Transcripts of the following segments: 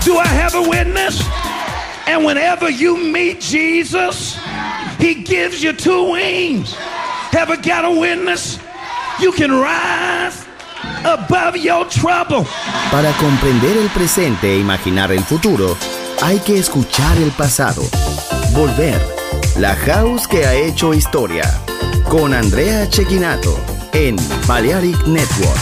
Do I have a witness? And whenever you meet Jesus, he gives you two wings. Ever got a witness? You can rise above your trouble. Para comprender el presente e imaginar el futuro, hay que escuchar el pasado. Volver. La House que ha hecho historia. Con Andrea Cecchinato en Balearic Network.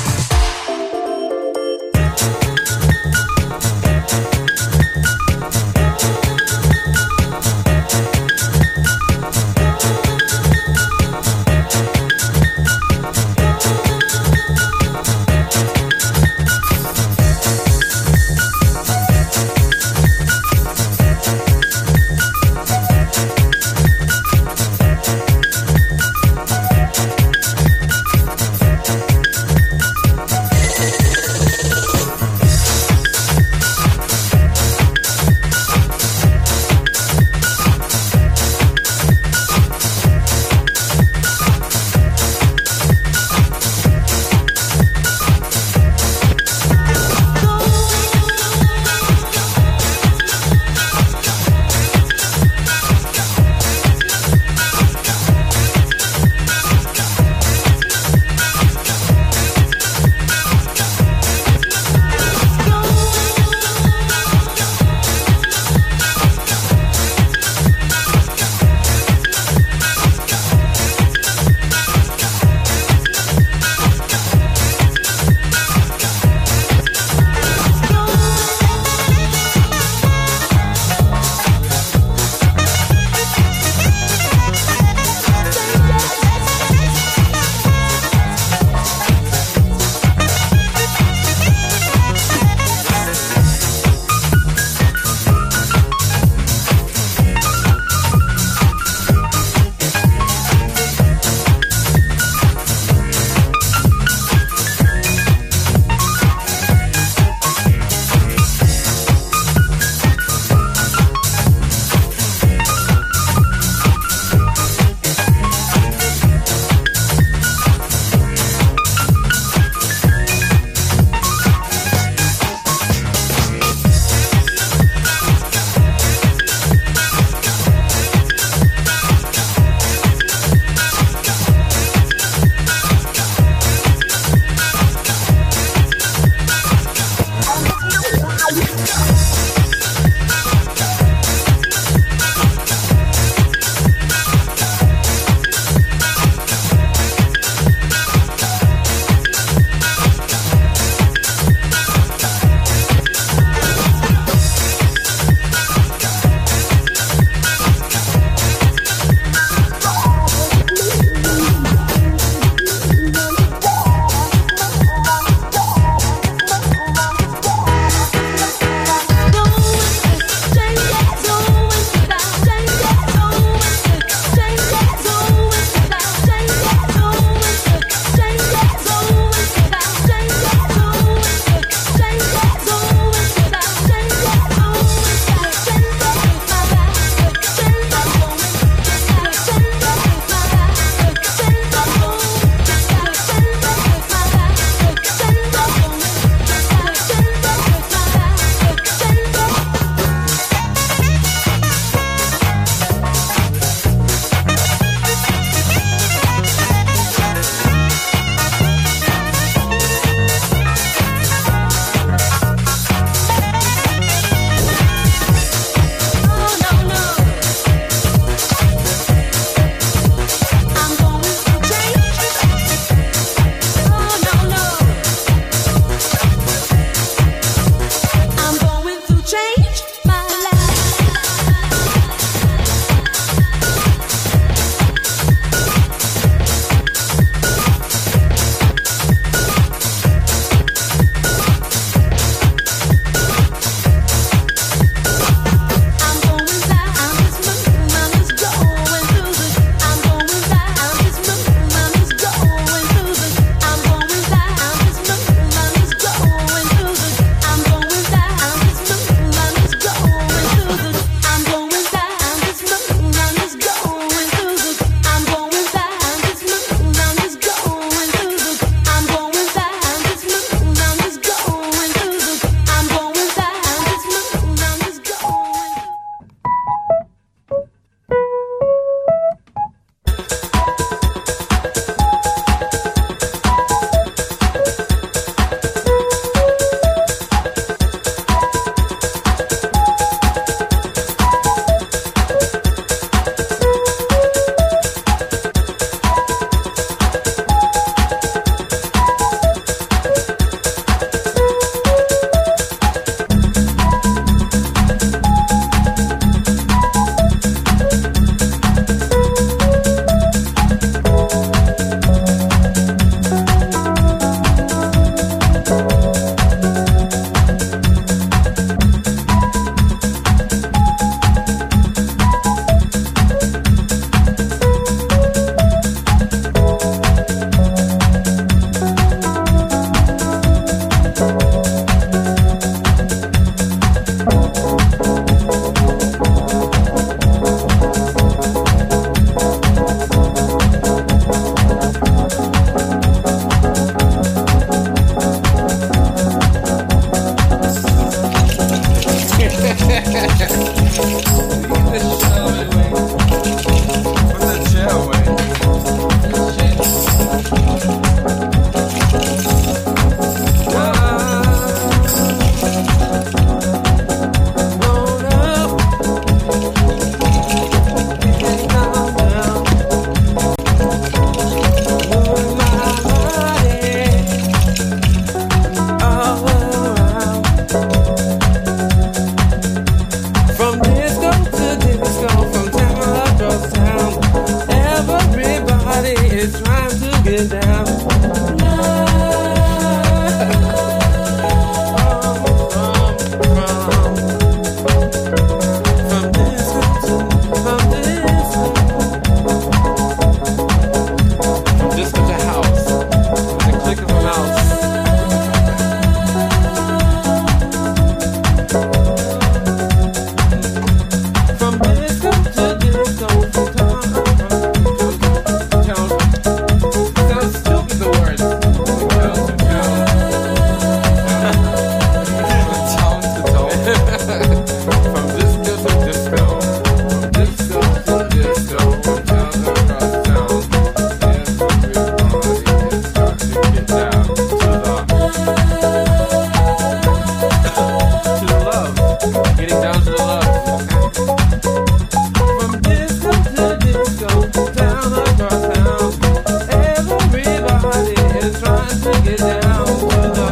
Getting down to the love. From disco to disco, town across town, everybody is trying to get down to the.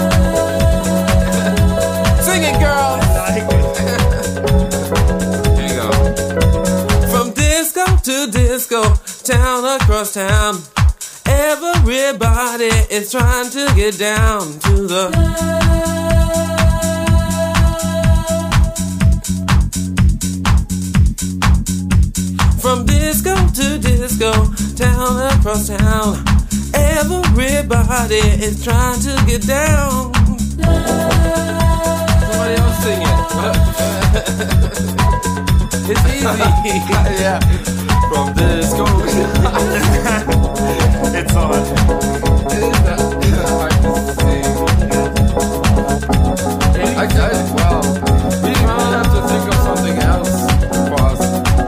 Sing it, girl. Here you go. From disco to disco, town across town, everybody is trying to get down to the. From disco to disco, town across town, everybody is trying to get down. Somebody else sing it. It's easy. Yeah. From disco. It's on. Wow. We might have to think of something else. Pause.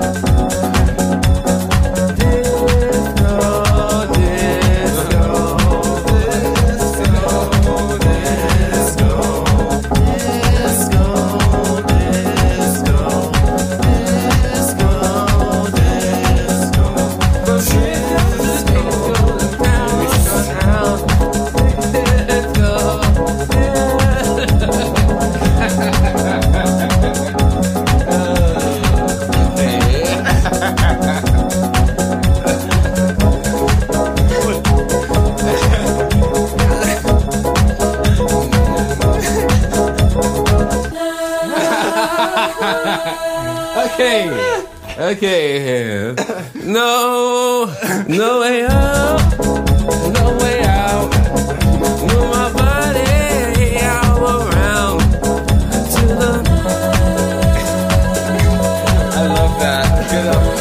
Okay. No way out. No way out. Move my body all around to the. I love that. Get up.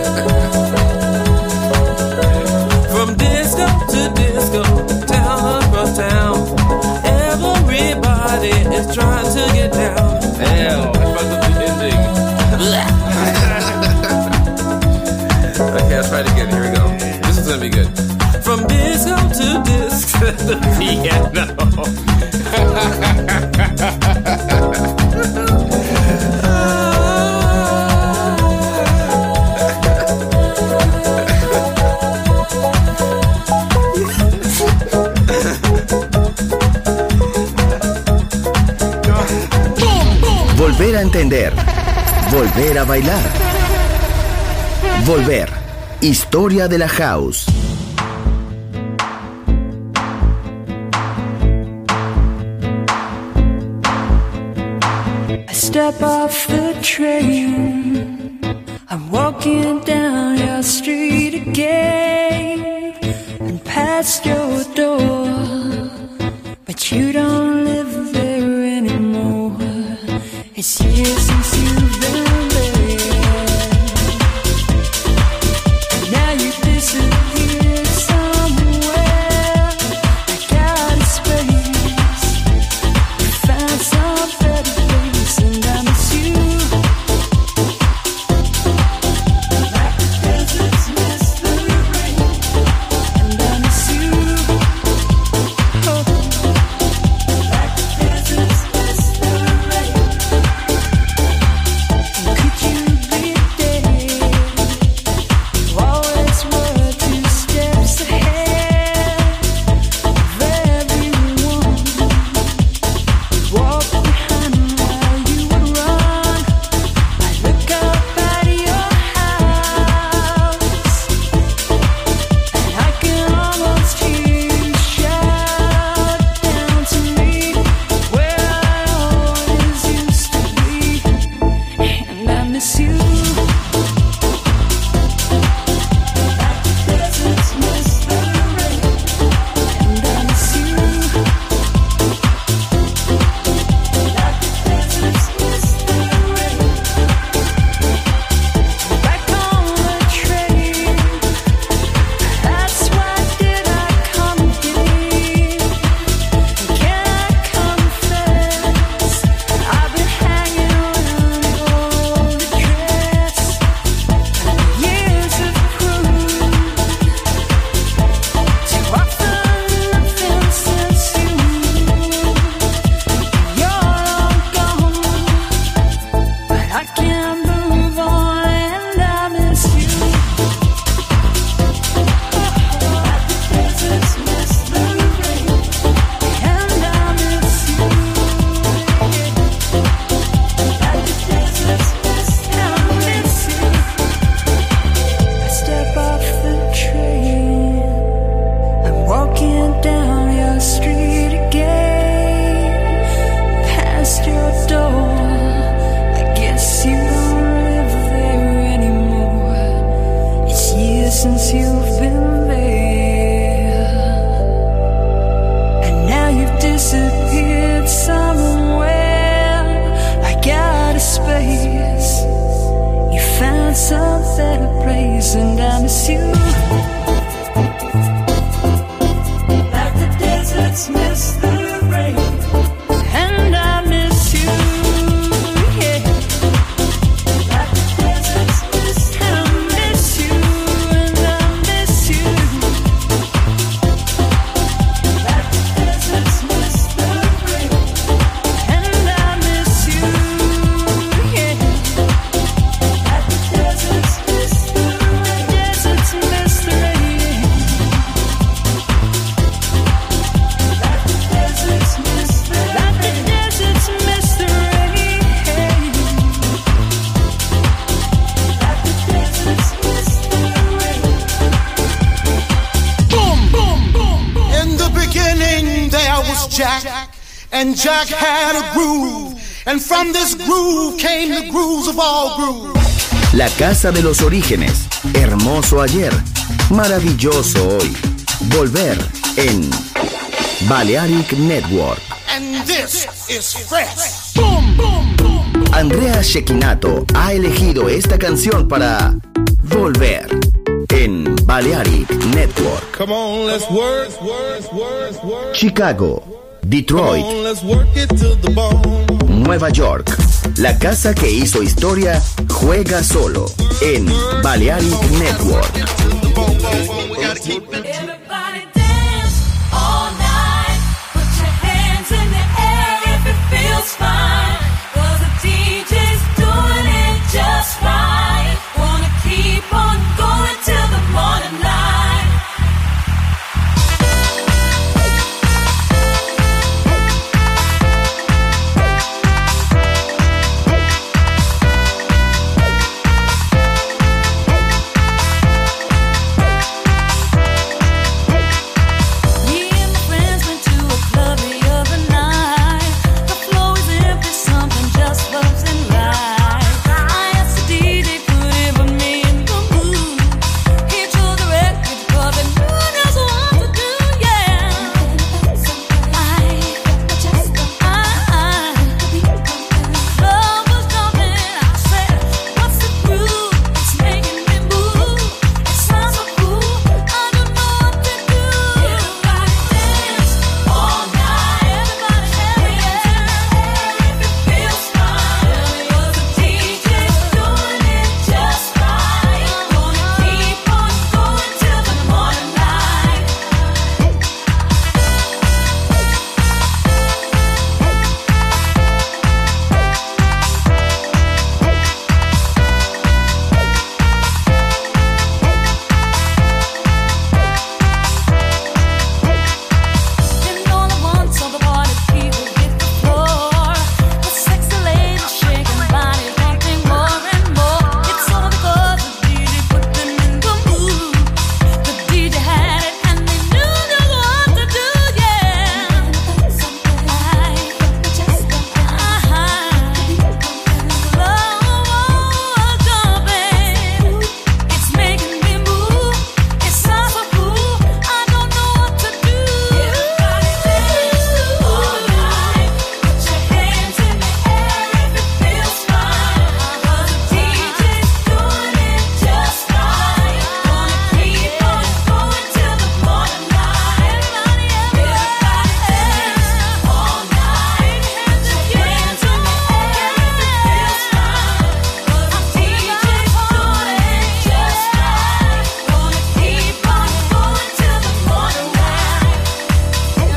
From disco to disco, town across town, everybody is trying to get down. Hell, I fucked up the ending. Okay, let's try it again. Here we go. This is gonna be good. From disco to disco to the piano. Volver a entender. Volver a bailar. Volver. Historia de la House. I step off the train, I'm walking down your street again, and past your door, but you don't live there anymore. It's years since you've been there. Now you disappeared somewhere. I got a space. You found some better place, and I miss you. Like the deserts miss the rain, and I miss you. Oh. Like the deserts miss the rain. And could you be there? You always were 2 steps ahead of everyone. Walk behind while you would run. I look up at your house, and I can almost hear you shout down to me where I always used to be, and I miss you. Like the deserts miss the rain, and I miss you. Like the deserts miss the rain. Back on the train, that's why did I come again? Can I confess, I've been hanging around all the train. Jack, and Jack had a groove, and from this groove came the grooves of all grooves. La casa de los orígenes, hermoso ayer, maravilloso hoy. Volver en Balearic Network. And this is fresh. Boom, boom, boom. Andrea Cecchinato ha elegido esta canción para Volver en Balearic Network. Come on, let's work. Chicago, Come Detroit, on, let's work it to the bone. Nueva York. La casa que hizo historia juega solo en Balearic Network. Everybody dance all night. Put your hands in the air if it feels fine. 'Cause the DJ's doing it just right. Wanna keep on going till the morning light. Me and my friends went to a club the other night. The floor is empty, something just wasn't right. I asked the DJ, could he put me in the mood? He chose the record 'cause he knew just what to do, yeah. Love was jumping, I said, what's the groove? It's making me move. It sounds so cool, I don't know what to do. Everybody dance all night. Everybody if it feels fine. 'Cause the DJ's doing it just right. Gonna keep on going till the morning light. And all at once, all the party people hit the floor. The sexy ladies shaking bodies, wanting more and more. It's all because the DJ put them in the mood. The DJ had it and they knew just what to do, yeah. Love was jumping, it's making me move. It sounds so cool, I don't know what to do. Everybody dance all night. Put your hands in the air if it feels fine. 'Cause the DJ's doing it just right. Gonna keep on going till the morning light. Everybody dance all night. Put your hands in the air if it feels fine. 'Cause the DJ's doing it just right. Gonna keep on going till the morning light.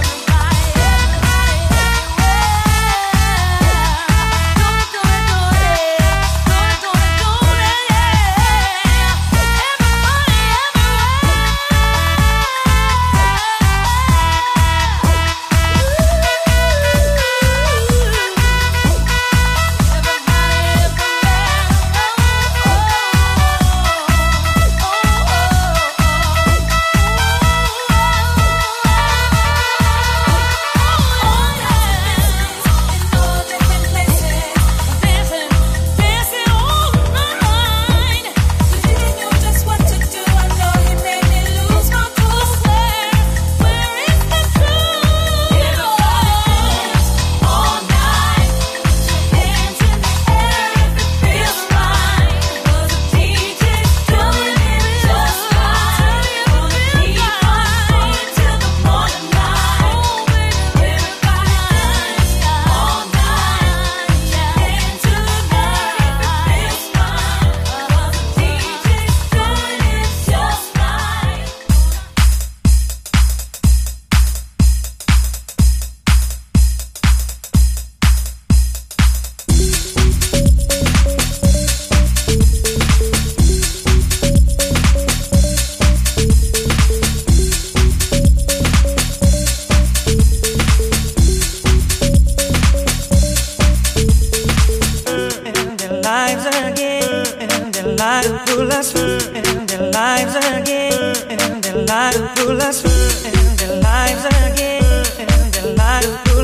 lives again, and their lives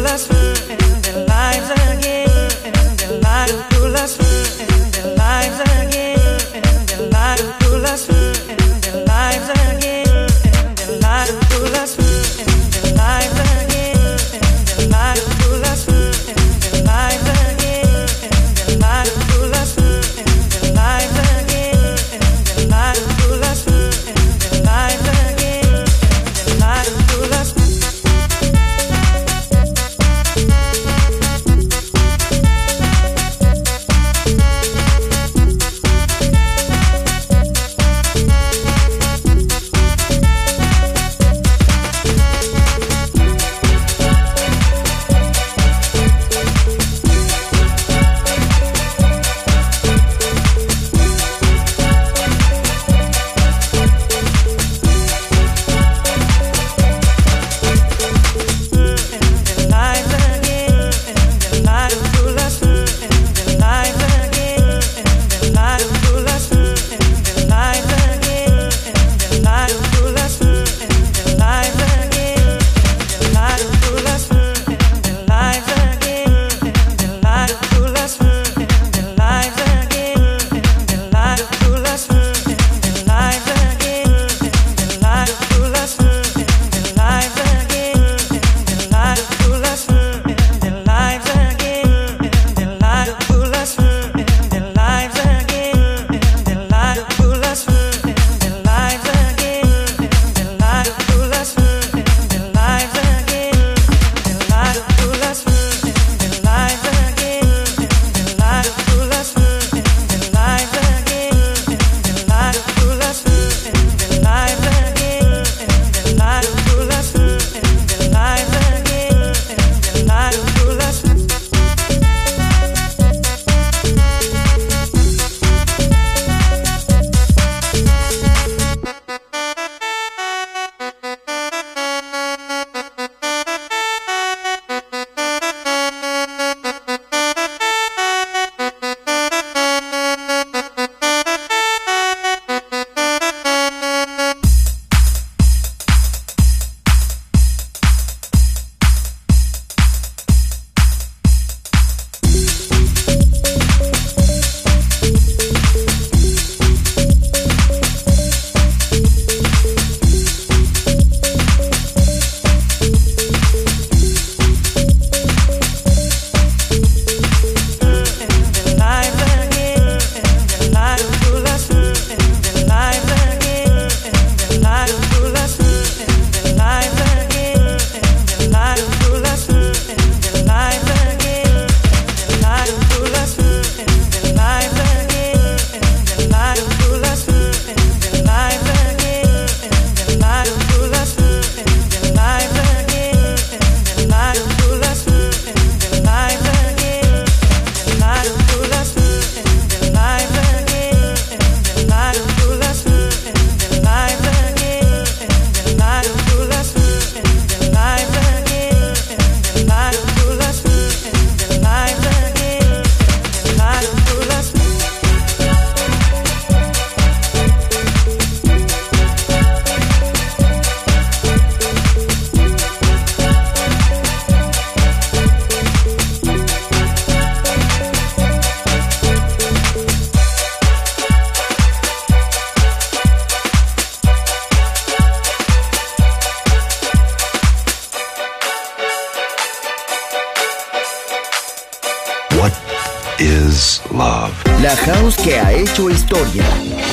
is love. La house que ha hecho historia.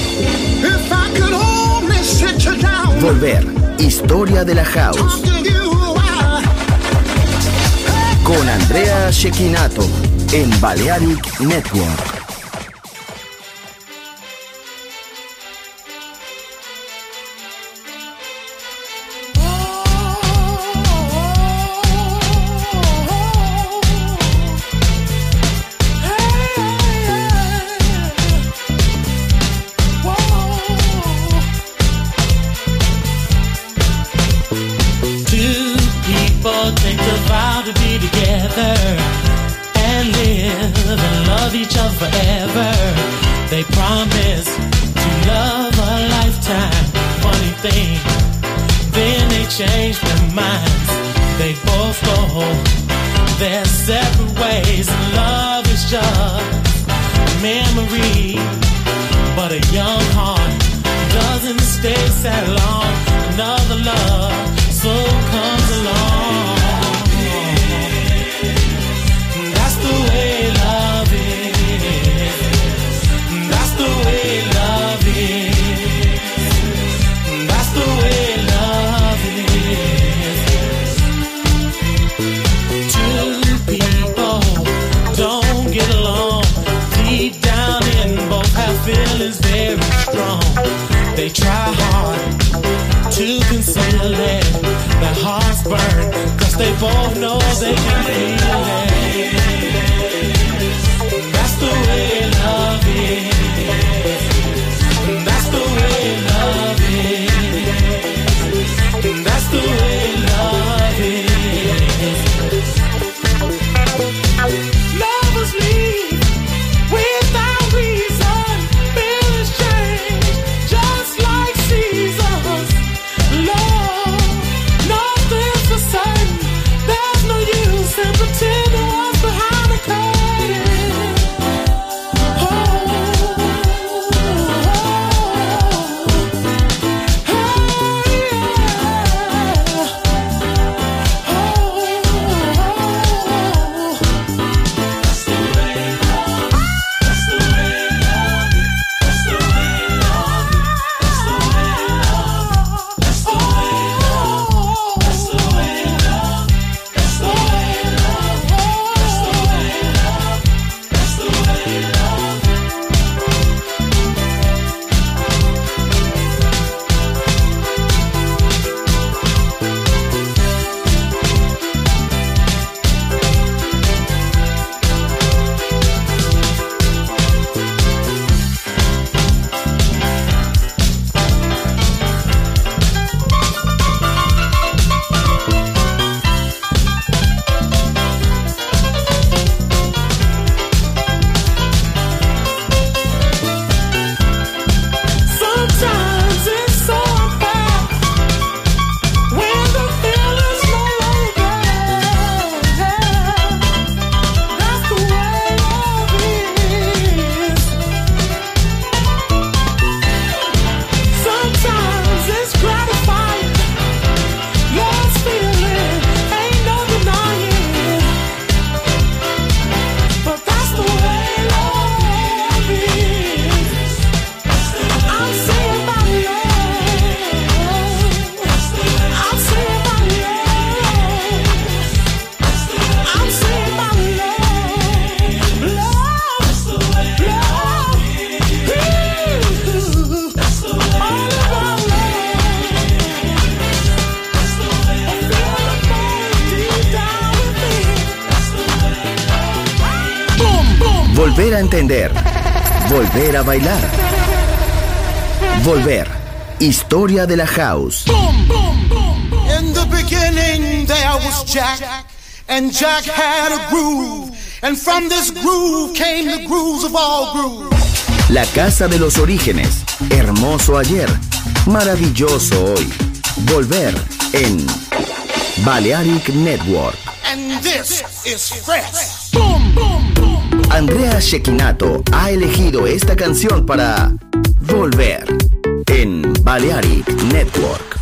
If I could only sit you down, Volver. Historia de la house. talk to you while Con Andrea Cecchinato en Balearic Network. Take a vow to be together and live and love each other forever. They promise to love a lifetime. Funny thing, then they change their minds. They both go there's separate ways, and love is just a memory. But a young heart doesn't stay sad long. Another love so comes along. That's the way love is. That's the way love is. That's the way love is. Two people don't get along. Deep down in both have feelings very strong. They try hard to conceal it. Their hearts burn, cause they both know they can feel it. That's the way love is. That's the way love is. That's the way love is. Lovers leave without reason. Feelings change just like seasons. Love, nothing's the same. There's no use in pretending what's behind the curtain. Oh, sometimes it's so unfair when the feeling's no longer there. That's the way love is. Sometimes it's gratifying. Love's feeling ain't no denying. But that's the way love is. I'm saying my love. I'm saying my love. I'm saying my love. Love, love. Ooh, all about love. I feel the burn deep down within. Boom, boom. Volver a entender. Volver a bailar. Volver. Historia de la house. In the beginning there was Jack, and Jack had a groove, and from this groove came the grooves of all grooves. La casa de los orígenes. Hermoso ayer. Maravilloso hoy. Volver en Balearic Network. And this is fresh. Andrea Cecchinato ha elegido esta canción para Volver en Balearic Network.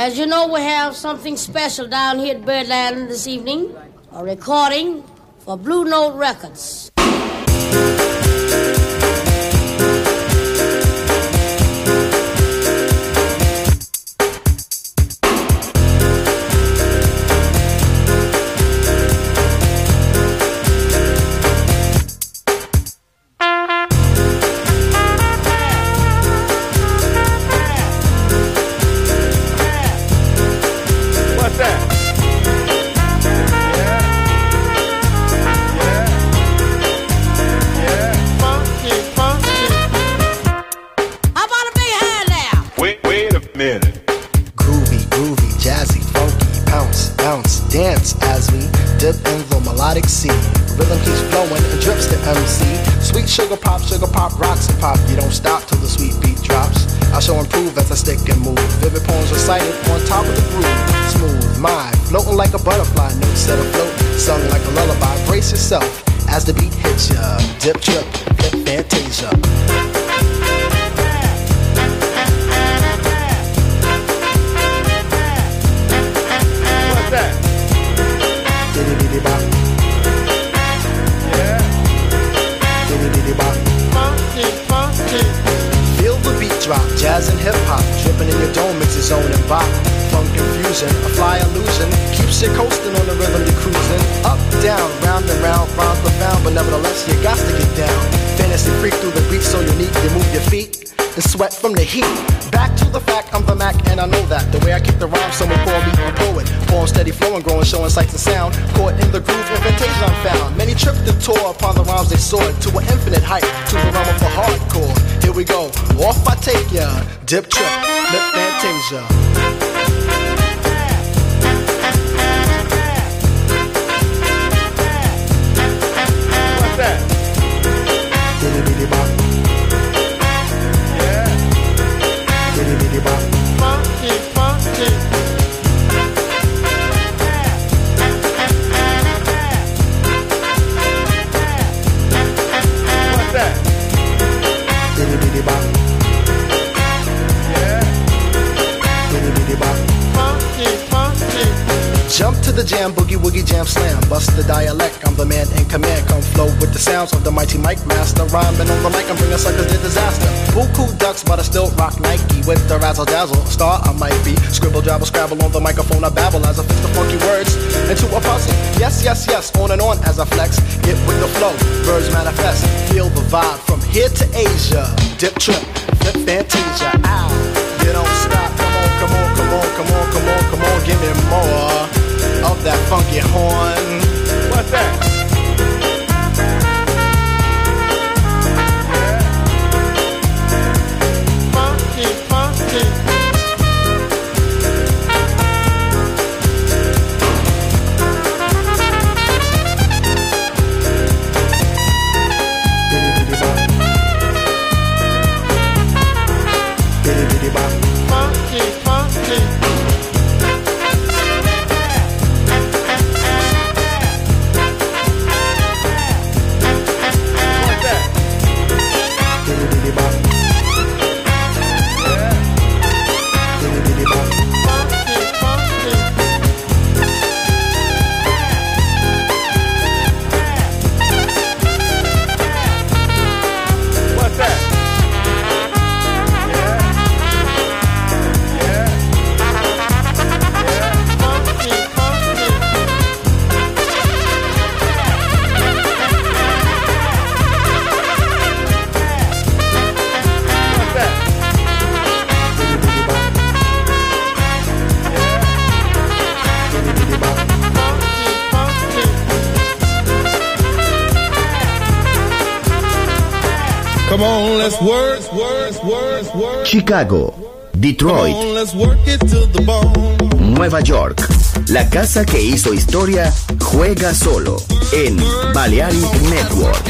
As you know, we have something special down here at Birdland this evening, a recording for Blue Note Records. Sugar pop, rocks and pop. You don't stop till the sweet beat drops. I shall improve as I stick and move. Vivid poems recited on top of the groove. Smooth mind, floating like a butterfly. Notes set afloat, sung like a lullaby. Brace yourself as the beat hits ya. Dip, trip, flip, fantasia. What's that? Diddy diddy bop. Feel the beat drop, jazz and hip-hop, dripping in your dome, it's its own and bop. Funk confusion, a fly illusion, keeps you coasting on the rhythm you're cruising. Up, down, round and round, rhymes profound, but nevertheless you got to get down. Fantasy freak through the beat so unique, you move your feet and sweat from the heat. Back to the fact, I'm the Mac and I know that. The way I kick the rhyme, someone call me a poet. Poem steady flowing, growing, showing sights and sound. Caught in the groove, invitation I'm found. Many tripped and tore upon the rhymes they soared to an infinite height, to the realm of the hardcore. Here we go, off I take ya. Dip, trip, flip, fantasia. What's that? Diddy diddy bop. Funky, funky. What's that? Diddy diddy bop. Yeah. Diddy diddy bop. Funky, funky. Jump to the jam, boogie woogie jam slam. Bust the dialect, I'm the man in command. Come flow with the sounds of the mighty mic master. Rhyming on the mic, I'm bringing suckers to disaster. Buku ducks, but I still rock Nike with the razzle dazzle. Star I might be. Scribble, jabble, scrabble on the microphone. I babble as I fix the funky words into a puzzle. Yes, yes, yes, on and on as I flex. Get with the flow, birds manifest. Feel the vibe from here to Asia. Dip, trip, flip, fantasia. Ow, you don't stop. Come on, come on, come on, come on, come on, come on. Give me more of that funky horn. What's that? Funky, funky. Biddy biddy bop. Funky, funky. Come on, let's work. Chicago, Detroit, Come on, let's work it to the bone. Nueva York. La casa que hizo historia juega solo en Balearic Network.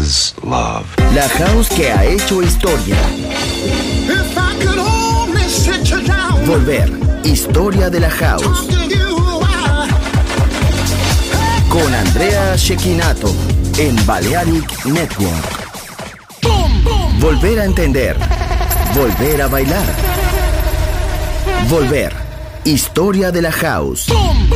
is love. La house que ha hecho historia. If I could only sit you down, Volver. Historia de la house. talk to you while Con Andrea Cecchinato en Balearic Network. Volver a entender. Volver a bailar. Volver. Historia de la house.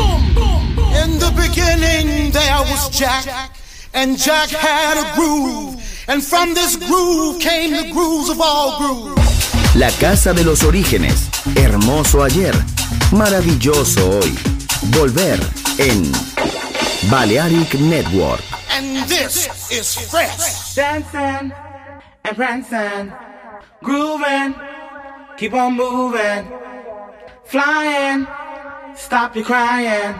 In the beginning there was Jack, and Jack had a groove, and from this groove came the grooves of all grooves. La casa de los orígenes. Hermoso ayer. Maravilloso hoy. Volver en Balearic Network. And this is fresh. Dancing and prancing, grooving, keep on moving, flying, stop your crying,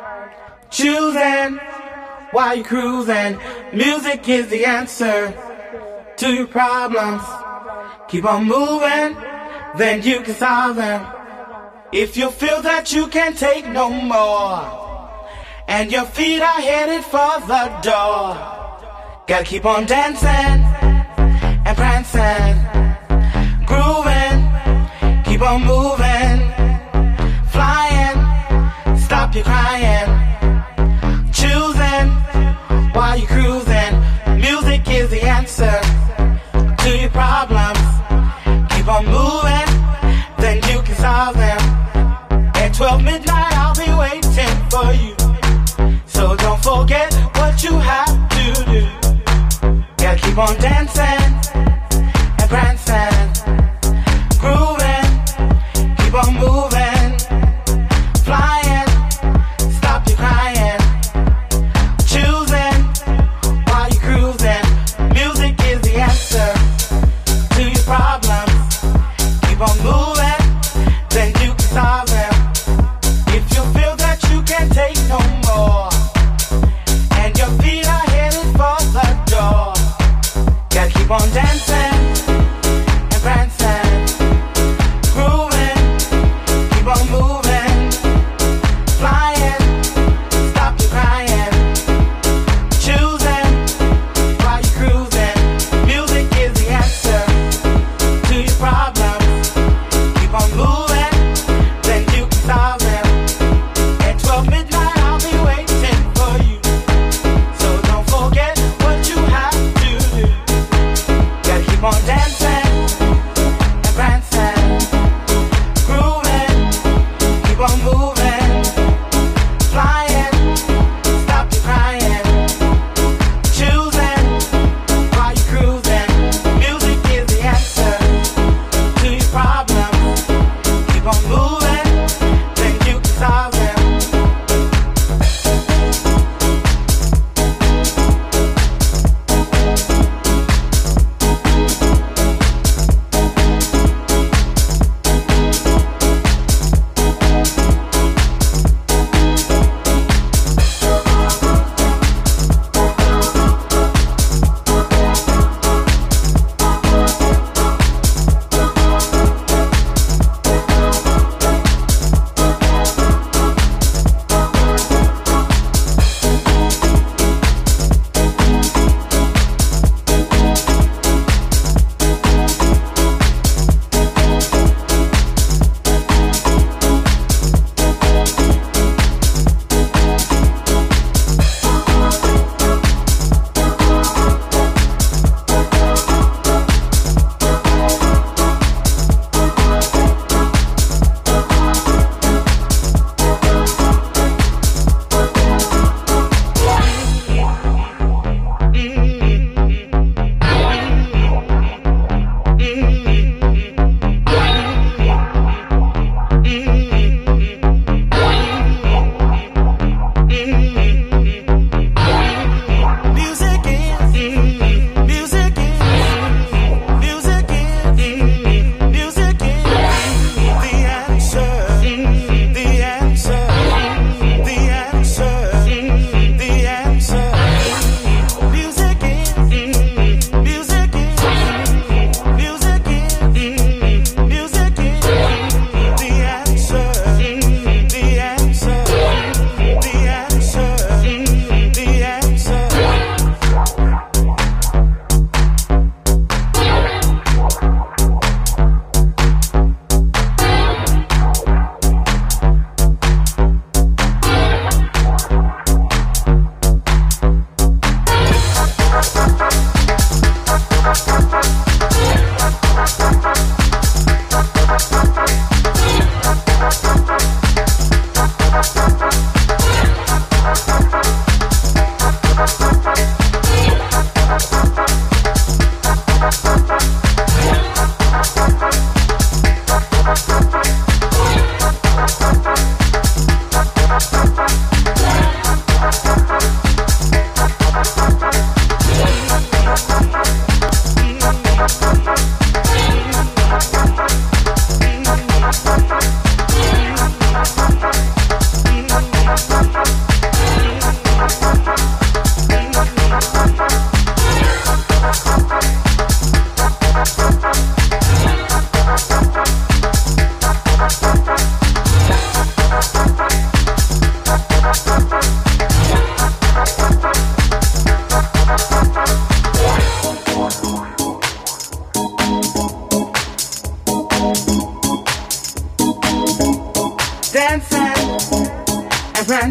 choosing while you're cruising. Music is the answer to your problems. Keep on moving, then you can solve them. If you feel that you can't take no more, and your feet are headed for the door, gotta keep on dancing and prancing, grooving, keep on moving, flying, stop your crying, choosing while you're cruising. Music is the answer to your problems. Keep on moving, then you can solve them. At 12 midnight I'll be waiting for you, so don't forget what you have to do. Gotta keep on dancing and prancing, grooving, keep on moving, flying, stop your crying, choosing while you're cruising. Music is the answer to your problems. Keep on moving, then you can solve them. If you feel that you can't take no more, and your feet are headed for the door, gotta keep on dancing and prancing, grooving, keep on moving, flying, stop your crying, choosing while you're cruising. Music is the answer to your problems. Keep on moving, then you can solve them. At 12 midnight I'll be waiting for you, so don't forget what you have to do. Gotta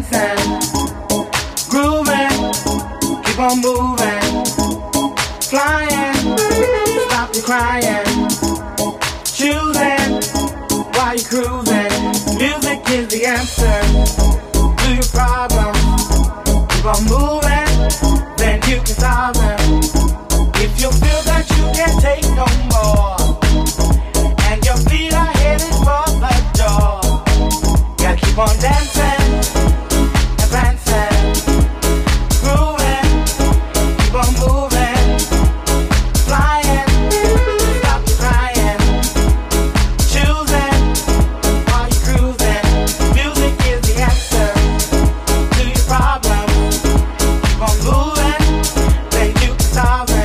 dancing, grooving, keep on moving, flying, stop your crying, choosing while you're cruising. Music is the answer to your problem. Keep on moving, then you can solve them. If you feel that you can't take no more, and your feet are headed for the door, gotta keep on dancing and prancing, grooving, keep on moving, flying, stop crying, choosing while you're cruising. Music is the answer to your problem. Keep on moving, then you can solve them.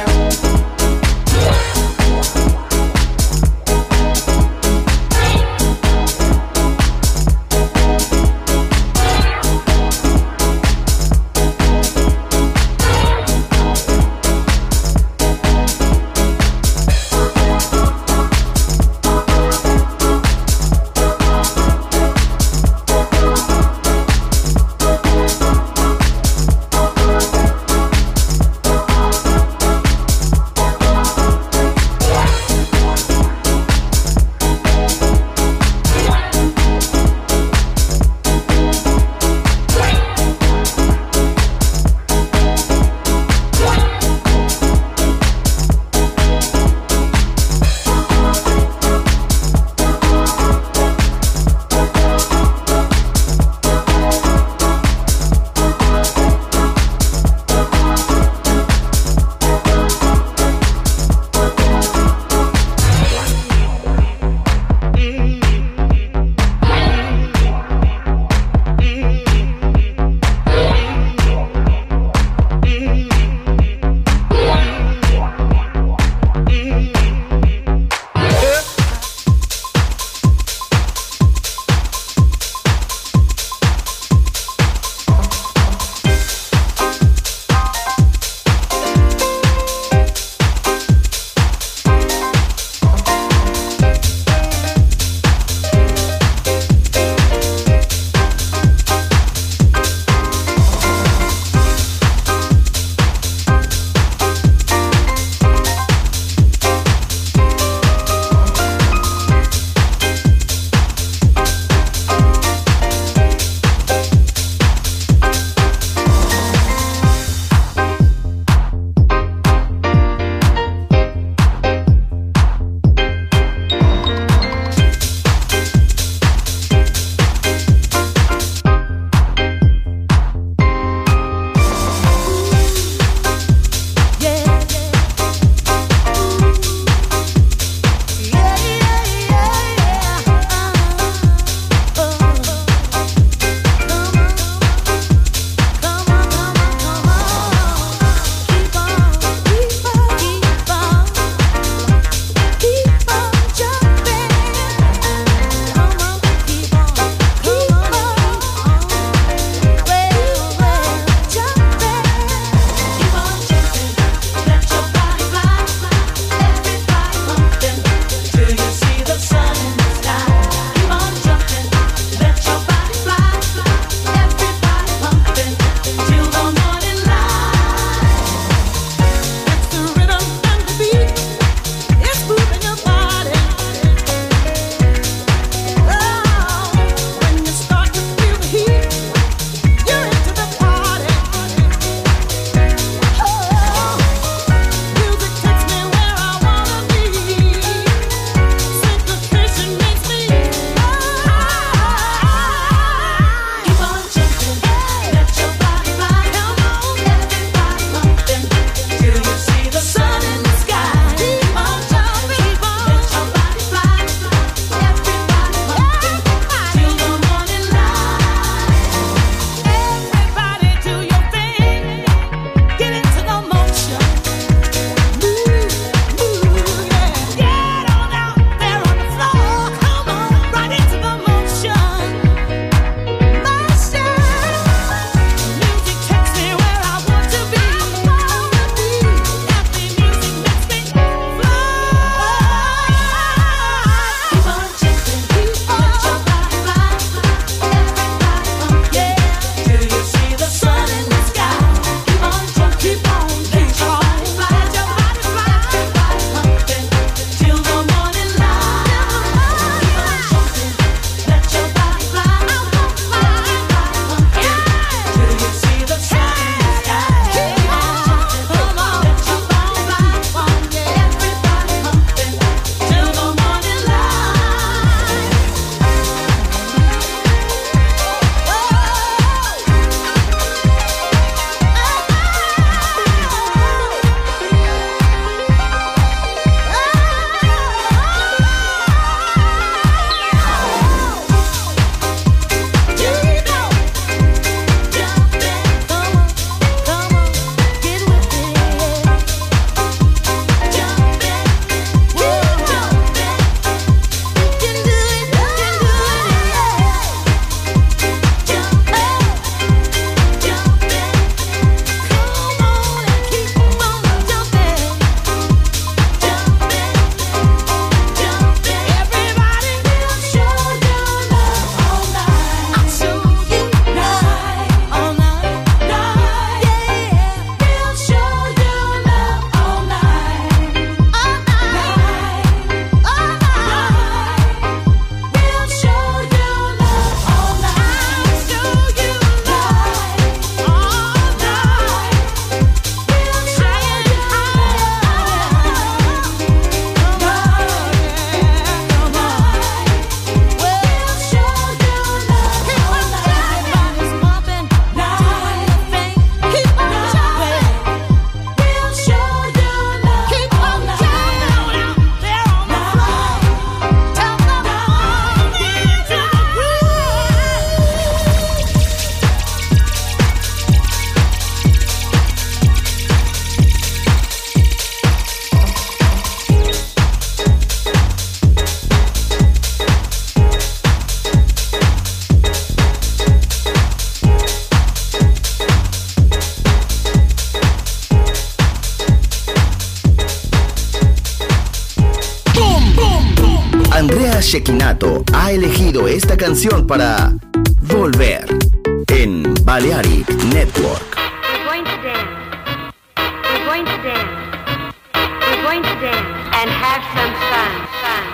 Andrea Cecchinato ha elegido esta canción para Volver en Balearic Network. We're going to dance. We're going to dance. We're going to dance and have some fun.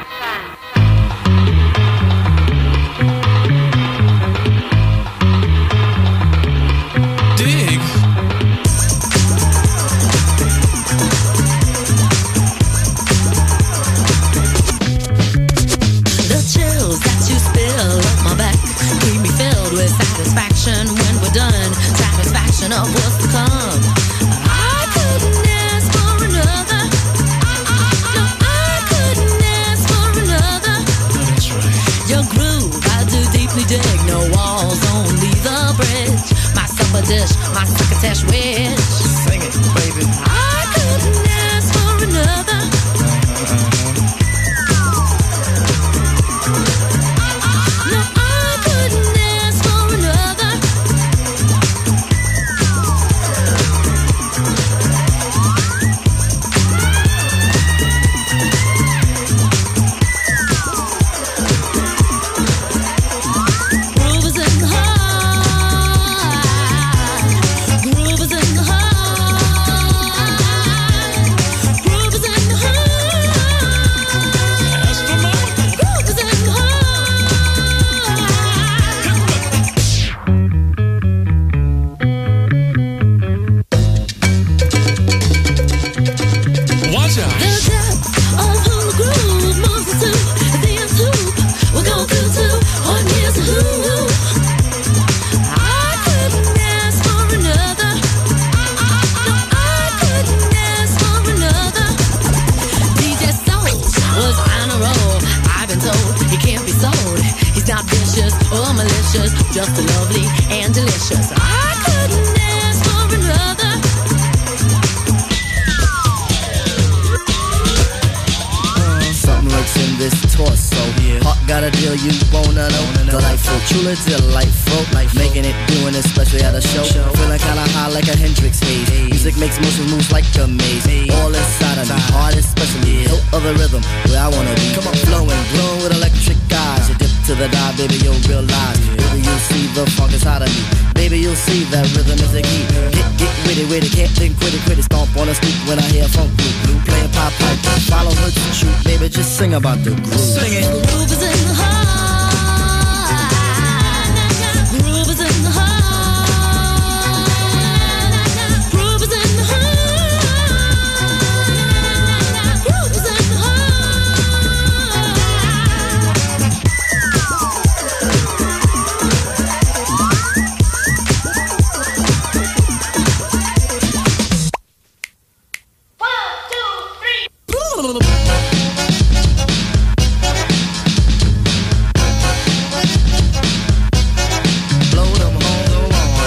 Dig. The chills that you spill up my back keep me filled with satisfaction when we're done. Satisfaction of what's to come. I couldn't ask for another. No, I couldn't ask for another. That's right. Your groove, I do deeply dig. No walls, only the bridge. My supper dish, my succotash wish. Sing it, baby. I couldn't ask for another. No, I couldn't ask for another. Groove is in the heart. Groove is in the heart. Groove is in the heart. Groove is in the heart. Watch out. The depth of who the groove moves us to. The end hoop. We're going to on here's a who. I couldn't ask for another. No, I couldn't ask for another. DJ Soul was on a roll. I've been told he can't be sold. He's not vicious or malicious, just lovely and delicious. I couldn't ask for another. Something lurks in this torso. Heart got a deal you wanna know. Delightful, truly delightful. Making it, doing it, especially at a show. Feeling kinda high like a Hendrix haze. Music makes motion moves like a maze. All inside of me, heart especially. No other rhythm where I wanna be. Come on, flowing, glowing with electric eyes. You dip to the dive, baby, you'll realize. Baby, you'll see the funk inside of me. Baby, you'll see that rhythm is the key. Get with it, can't think, quit it. Stomp on the street when I hear funk blue. Playing pop pipe, follow her to shoot. Baby, just sing about the groove. Sing it. Groove is in the heart. Groove is in the heart. Groove is in the heart. Groove is in the heart. Blow them horns on.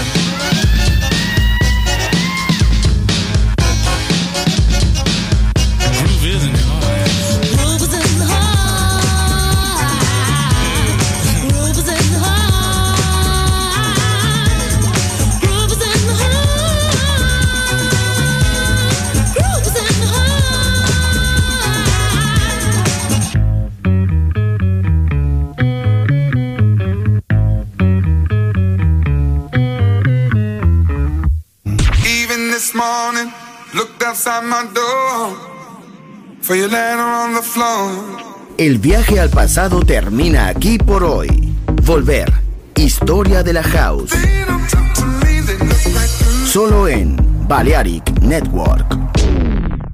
Groove is in the heart. Groove is in the heart. Groove is in the heart. Groove is in the heart. Groove is in the heart. Even this morning, looked outside my door for your letter on the floor. El viaje al pasado termina aquí por hoy. Volver. Historia de la House. They don't talk to me, they look right through. Solo en Balearic Network.